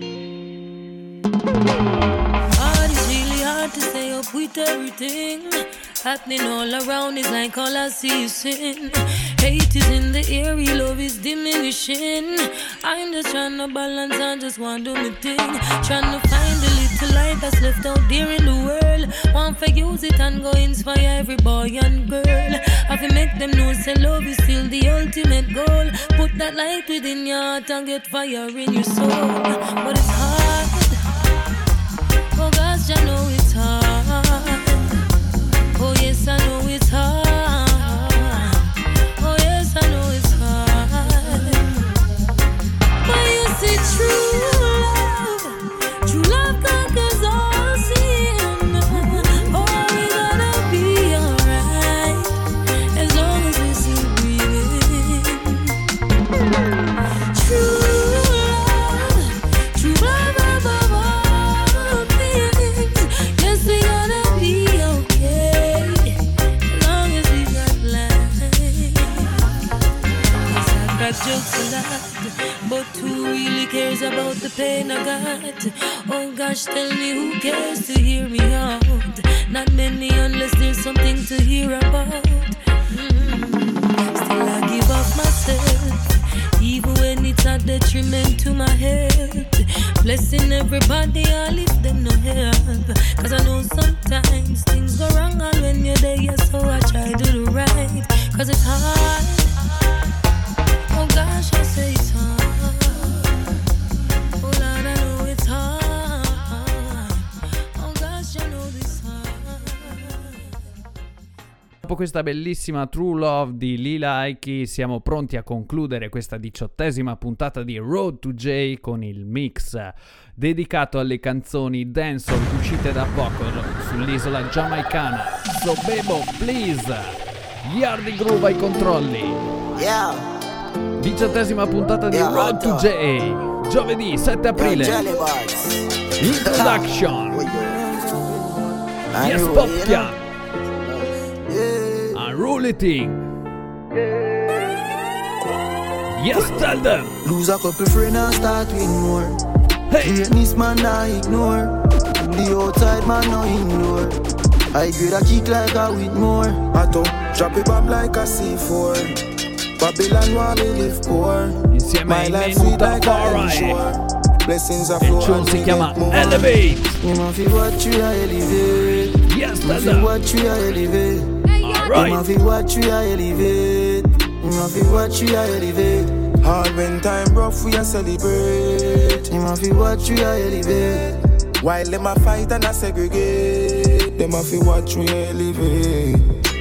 Hard, it's really hard to stay up with everything happening all around. It's like all I see is sin. Hate is in the air, love is diminishing. I'm just trying to balance and just want to do my thing. Trying to find the little light that's left out there in the world. Want to use it and go inspire every boy and girl. Have to make them know say love is still the ultimate goal. Put that light within your heart and get fire in your soul. But it's hard, oh gosh, I know it's hard. Oh yes, I know it's hard. Oh yes, I know it's hard. But you see, true love conquers all sin. Oh, we gonna be alright as long as we still breathing. True love above all things. Yes, we gonna be okay as long as we got life. Yes, I've got jokes a lot, but who really cares about the pain I got? Oh gosh, tell me who cares to hear me out? Not many unless there's something to hear about. Still I give up myself, even when it's a detriment to my health. Blessing everybody, I lift them no help. Cause I know sometimes things go wrong, and when you're there, yeah, so I try to do right. Cause it's hard. Oh gosh, I say it's hard. Oh Lord, I know it's hard. Oh gosh, I know it's hard. Dopo questa bellissima True Love di Lila Ike siamo pronti a concludere questa 18ª puntata di Road to J con il mix dedicato alle canzoni dancehall uscite da poco sull'isola giamaicana. So Bebo, please! Yardi Groove ai controlli. Yeah. 18ª puntata di Road to J. Giovedì 7 aprile. Introduction. Yes, Poppian. Unruly. Yes, tell them. Lose a couple friends and start with more. Hey. This man I ignore. The outside man no ignore. I grade a kick like a with more. I don't drop it bomb like a C4. Babylon want me live poor. Insieme My ai life Men sweet like a Tafari. shore. Blessings are Il flow tune and si we chiama get more. Elevate. You know fi watch you elevate. Yes, You tell fi them. watch you elevate. You know Alright. fi watch you elevate. You know fi watch you elevate. Hard when time rough we a celebrate. You know fi watch you elevate. While them a fight and a segregate, them a fi watch we elevate.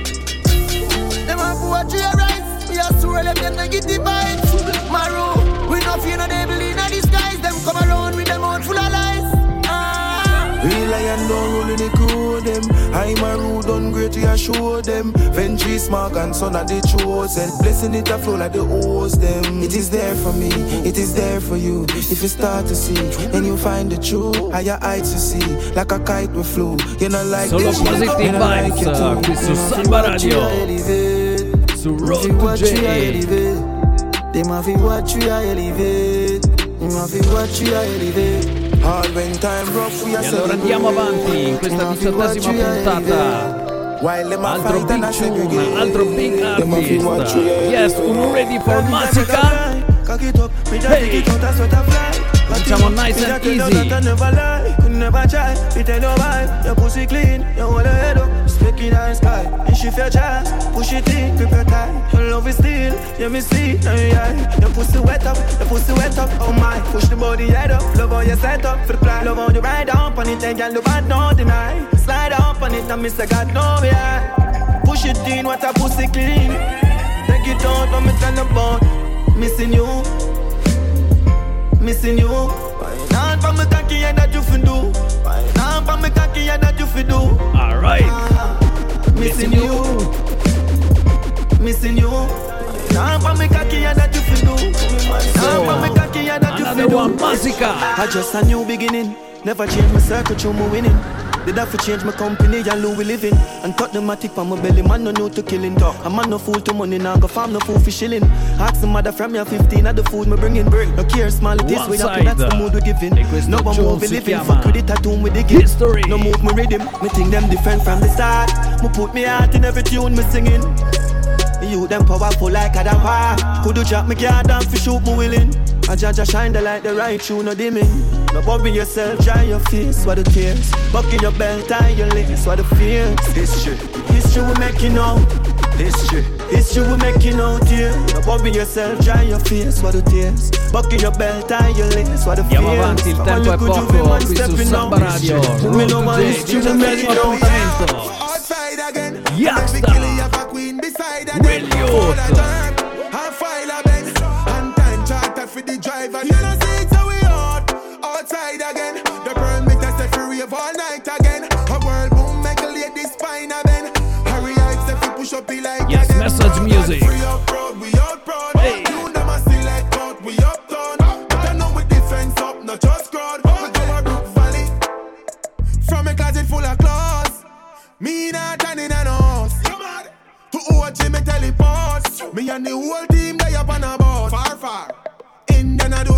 Them a fi watch we rise. We a swirl them negative vibes. Maroon, we no fear no devil in a disguise. Them come around with them out full of lies. Real lion don't roll in the crew them. I'm a rude on great, we a show them. Ventry smog and son of the chosen. Blessing it a flow like the hose them. It is there for me, it is there for you. If you start to see, then you find the truth. Higher heights you see, like a kite we flew. You know like Solo this, positive you know like vibes, it too. qui su You know Samba fi watch you Radio. elevate. Su You Road fi to watch you J. elevate. Them a fi watch you elevate. You a fi watch you elevate. All when time rough we a E allora andiamo avanti in questa 18ª puntata. Altro big tune, altro big artist. Yes, ready for Massacre. Hey. Diciamo nice and easy. Never try, it ain't no vibe. Your pussy clean, you hold your head up, speaking in sky. And shift your chest, push it in, grip your tie. Your love is still, you me see, now you eye. Your pussy wet up, oh my. Push the body head up, love how you set up for the plan. Love how you ride up on it, and girl, you bad, no deny. Slide up on it, and Mr. God, no yeah. Push it in, what a pussy clean. Take it out, let me tell about missing you. Missing you. Why not from me cocky and that you fi do? Why not from me cocky and that you fi do? Alright. Missing you. Missing you. Not from me cocky and that you fi do. Not from me cocky and that you fi Another do. one, Massacre. I just a new beginning. Never change my circle, through my winning. Did I for change my company and who we living? And cut the matic on my belly, man no new to killing. A man no fool to money, now go farm no fool for shilling. Ask some mother from your 15 at the food me bringing. No care small it is, we happy that's the mood we giving. No one move we living, fuck with the tattoo with the gift. History. No move me rhythm, me think them different from the start. Me put me heart in every tune me singing. You them powerful like a damn. Could you drop me card down for shoot me willing? I judge shine the light, the right tune, no dimming. No bobby yourself, dry your face, what the tears. Bucking your belt, tie your legs, what the fears. History we making out. History we making out here. No bobby yourself, dry your face, what the tears. Bucking your belt, tie your legs, what the fears. Andiamo avanti, il tempo è poco qui su Samba Radio. Road to J, 18º appuntamento. Yaksta, Will Youth. For the driver, you know see it's how we out outside again. The pearl make us stay free of all night again. A world boom make a lady spine a bend. Hurry up, if we push up be like Yes, again. message music. Free up proud, we out proud. Hey. You them a select out, we uptown. But I know we defense up, not just crowd. We go a Brook Valley from a closet full of clothes. Me not turning an house. To OG me teleport. Me and the whole team they up on a boat. Far. And then I do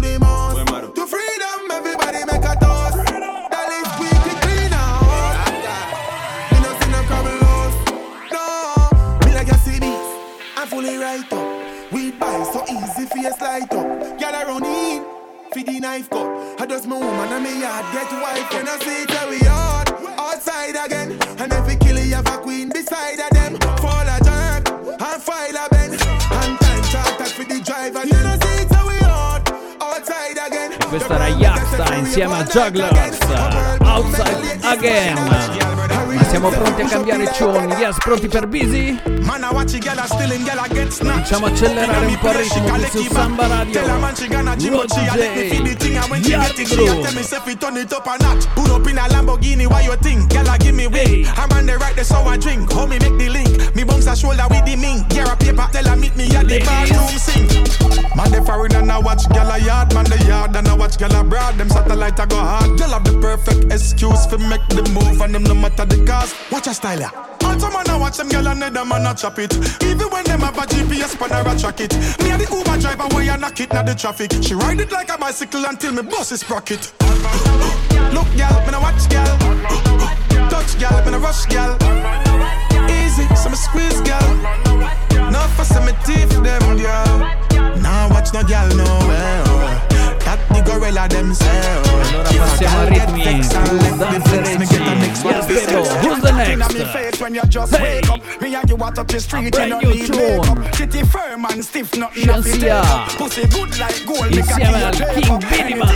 right up. We buy so easy face light up. Girl around in, feed the knife cut. I just my woman and me yard get wife. And I see it how we hard, outside again. And every killer you have a queen beside of them. Fall a jerk, and file a bend. And time talk that for the driver. You know see it how we hard, outside again. E questo era Yaksta insieme a Jugglers, Outside Again. Ma siamo pronti a cambiare tune? Yes, pronti per Busy? Cominciamo a accelerare un po' il ritmo qui su Samba Radio. Road to J, Yardi Groove. Put up in a Lamborghini, why you think? Girl, give me way. I'm on the right, that's how I drink. Homie, make the link. Me bounce a shoulder with the mink. Get a paper, tell her meet me at the bathroom sink. Man, they foreign and I watch girl a yard. Man, the yard and I watch girl abroad. Them satellite I go hard. Girl have the perfect excuse for make the move. And them no matter the cause. Watch a style ya. Also man, I watch them girl and them man a chop it. Even when them have a GPS spanner a track it. Me and the Uber driver where you knock it na the traffic. She ride it like a bicycle until me bus is sprocket. Look girl, me no watch girl. Touch girl, me no rush girl. Easy, so me squeeze girl. No fuss in me teeth them girl. Now watch no girl nowhere. That the gorilla themselves. Allora passiamo a ritmi danzerecci. Yes, Bebo, who's the next? Hey, a brand new tune. Shansia insieme al King Minimal.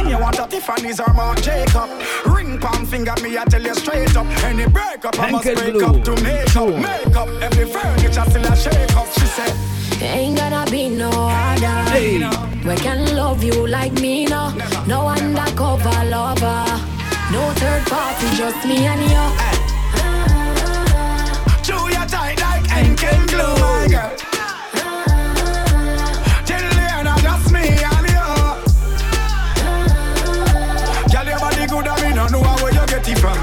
Anche il Blue tune. Ain't gonna be no other. Hey. We can love you like me now. No undercover lover. No third party, just me and you. Chew your tight like Henkel glue, my girl. Till just me and you. Girl, your body good and me no know where you get it from.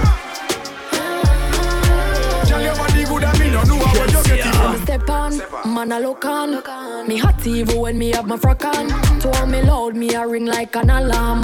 Girl, your body good and me no know where you get it from. Step on, man I look on. Me hot even when me have my frock on. To me loud, me a ring like an alarm.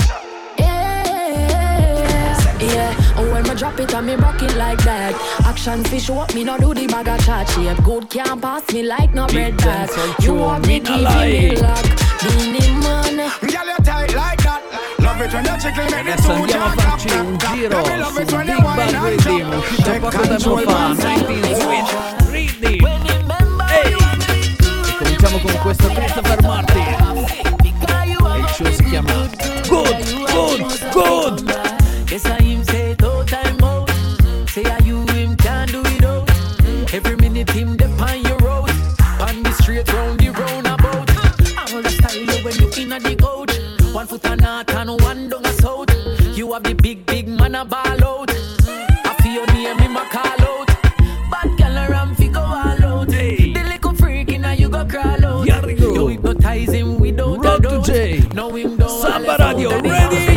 Yeah, and when me drop it and me rock it like that. Action fish up, me no do the bag of chat shape. Good can't pass me like no bread bag. You want me keep me lock. Beanie man, girl you tight like that. Love it when you tickle me. Adesso andiamo a farci un giro su Big Bad Rhythm, uscito poco tempo fa, 19 Switch Rhythm. E cominciamo con questo Christopher Martin. E il show si chiama Good, Good, Good. Yes, I him say no time out. Say are you him can't do it out. Every minute him dep on your road. On the straight round the roundabout. I'm the style when you inna the coach. One foot on north and one down a south. You have the big man a ball out. I feel your name in my call out. Bad girl around fi go all out. The little freak inna you go crawl out. You hypnotize him without Road to J, no him don't Samba Radio, ready?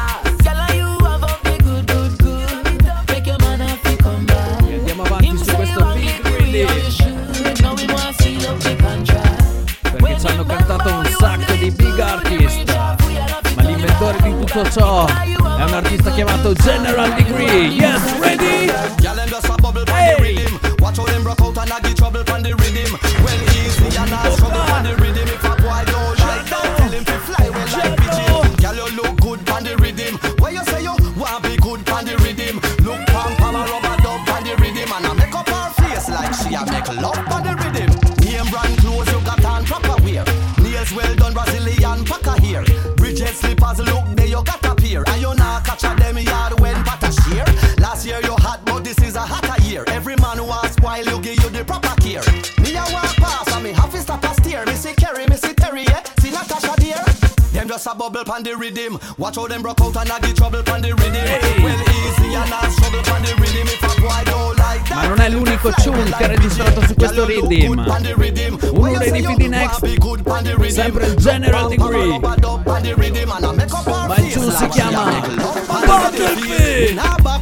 Perché ci hanno cantato un sacco di big artist, ma l'inventore di tutto ciò è un artista chiamato General Degree. Yes, ready? Hey! Watch how them broke out and I get trouble from the rhythm. When easy and I struggle from the rhythm. If a boy don't like that, tell him to fly well like pigeon. Girl, you look good from the rhythm. Why you say you want be good from the rhythm? Look pam pam a rubber dub from the rhythm. And I make up her face like she a make love from the rhythm. Name brand clothes you got on proper wear. Nails well done Brazilian packer here. Bridget slippers look there you got a pair. And you not catch a them yard when patter shear. Last year you had but this is a hotter year. Every man who wants spoil you give you the proper care. Me a walk past and me have to stop a steer. Me see Kerry, me see Terry, yeah. See Natasha dear. Them just a bubble pan the rhythm. Watch how them broke out and I get trouble pan the rhythm. Well easy and I struggle pan the rhythm. If a boy don't like that. Ma non è l'unico tune che ha registrato su questo rhythm. Uno dei DVD Next, sempre il General Degree. Ma il tune si chiama Battlefield.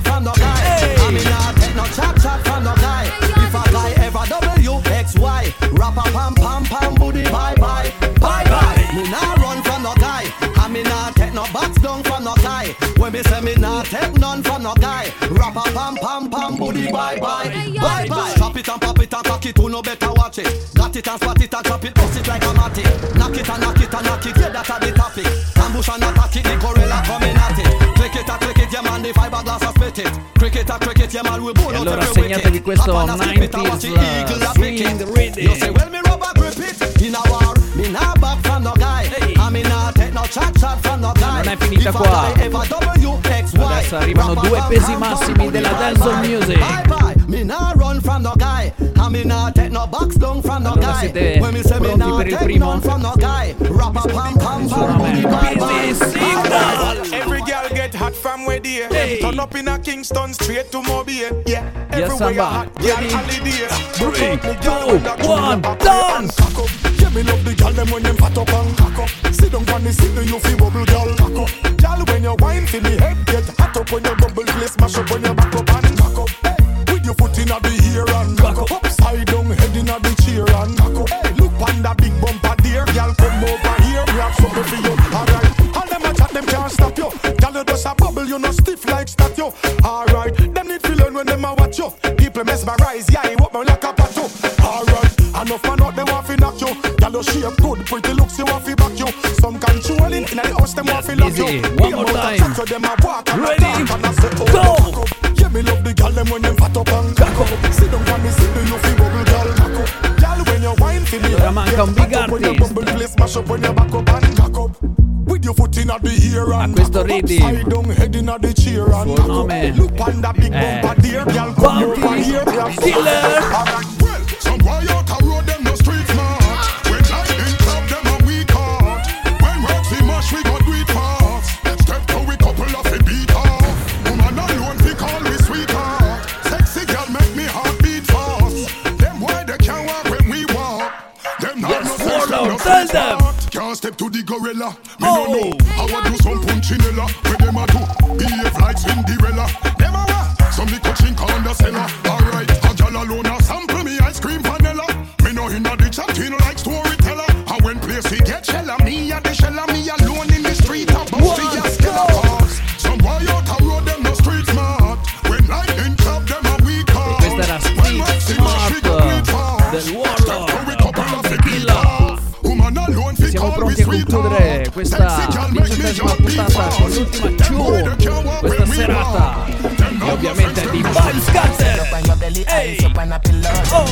If a guy ever WXY, rapper pam pam pam booty bye bye bye bye. Me nah run from no guy, and me nah take no box down from no guy. When me say me nah take none from no guy, rapper pam pam pam booty bye bye bye bye. Chop it and pop it and cock Rock it, who no better watch it. Got it and spot it and chop it, bust it like a matty. Knock it and knock it and knock it, yeah, that's a the topic. Ambush and attack it, the gorilla coming at it. Click it, yeah man, the fiberglass a split it. Cricket, yeah man, we both E allora segnatevi questo 90s swing rhythm. You say, well, me rubber grip it. In a war, me nah back from no guy. I me nah take no chat from no guy. Non è finita qua. Adesso arrivano due pesi massimi della dancehall music. Me nah run from no guy. I me nah take no box down from no Allora guy. siete pronti per il primo? Every girl get hot from where they turn up in a Kingston straight to Mobile. Yeah, everywhere you hot, girl holiday. 3, 2, 1, dance! Yeah, me love the girl them when them fat up and cock up. Sit down on the seat, you feel bubble girl cock up. Girl when you wine for me head get hot up when you bubble play smash up when you back up and cock up. Hey, with your foot inna the ear and cock up. Upside down head inna the chair and cock up. Hey, look on that big bumper there, girl come over here, we have something for you. Alright, all them a chat them can't stop you. Girl you just a bubble, you no stiff like statue. Alright, them need to learn when them a watch you. People mesmerize, yeah, he walk me like a pato. Alright, enough man out them want fi knock you. Girl you shape good, pretty looks you want fi back you. Some controlling in the house them want fi lock you. One more time. Them a walk and Ready, a talk and a say oh go! Yeah, me love the girl them when them fat up and cock up. Sit down on the seat, you fi bubble girl cock up. Girl when you wine fi me, Ora manca un big when you artist. bubble play smash up when you back up and cock up. With your foot inna the ear and questo cock up. rhythm. Upside down head inna the chair and Suo cock nome up. Look on that big bumper there, girl come over here. Killer! Well, some boy out a road them no street smart. When light in club them a weak heart. When Roxy mash we gon' do it fast. Step to we couple of a beat off. Woman alone fi call me sweetheart. Sexy girl make me heart beat fast. Them boy they can't walk when we walk. Them not no sex, Warlord, no tell sex them. part. Can't step to the gorilla. Me no know how I do some punchinella. Where them a do behave like Cinderella. Them a what? Some little chink on the cellar. Alright, a gal alone a sample me ice cream vanilla. Me no inna the chatting like storyteller. And when place he get shella, me a the shella. Me alone in the street a bust the skella cars. Some boy out a road them no street smart. When light in club them a weak heart. Questa era Street Smart del Warlord, siamo pronti a concludere questa 17ª puntata con l'ultima tune questa serata e ovviamente di Bob Scatter. Ehi! Oh!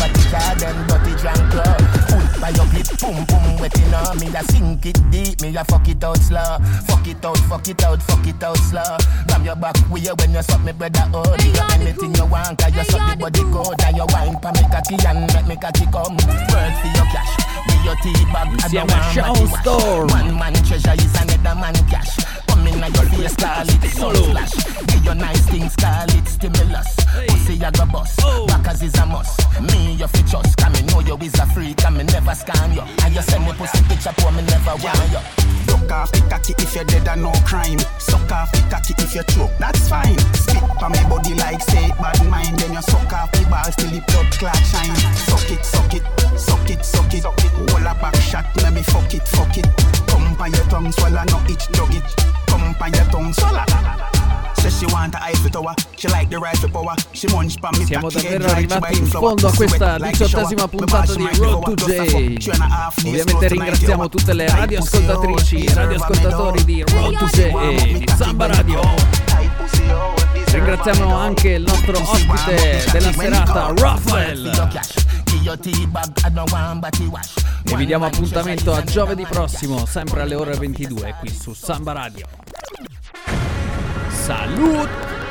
By your clip, boom boom, wetting on me. I sink it deep, me I fuck it out slow. Fuck it out, fuck it out, fuck it out slow. Ram your back way when you suck me brother out. You got anything you want, cause you suck the body good. And you wine pa me cocky and make me cocky come. Work for your cash, with your tea bag. Insieme a Sean Storm. One man treasure is another man cash. Come in at your face, call it sun splash. Give your nice things, call it stimulus. Pussy you go bust, backers is a must. Me you fit trust, cause me know you is a freak. And me never scam you, and you send me pussy picture for me never want you. Suck off the cocky if you're dead and no crime. Suck off the cocky if you choke, that's fine. Spit on me body like say bad mind. Then you suck off the balls till the blood clot shine. Suck it, suck it, suck it, suck it. Hold a back shot, let me fuck it, fuck it. Come by your tongue, swallow, no itch, dog it. Come by your tongue, swallow. Says she want the Eiffel Tower, she like the rifle power. She munch pa me. Siamo davvero arrivati in fondo a questa 18ª puntata di Road to J. Ovviamente ringraziamo tutte le radioascoltatrici e radioascoltatori di Road to J e di Samba Radio. Ringraziamo anche il nostro ospite della serata, Raphael. E vi diamo appuntamento a giovedì prossimo, sempre alle ore 22 qui su Samba Radio. Salute!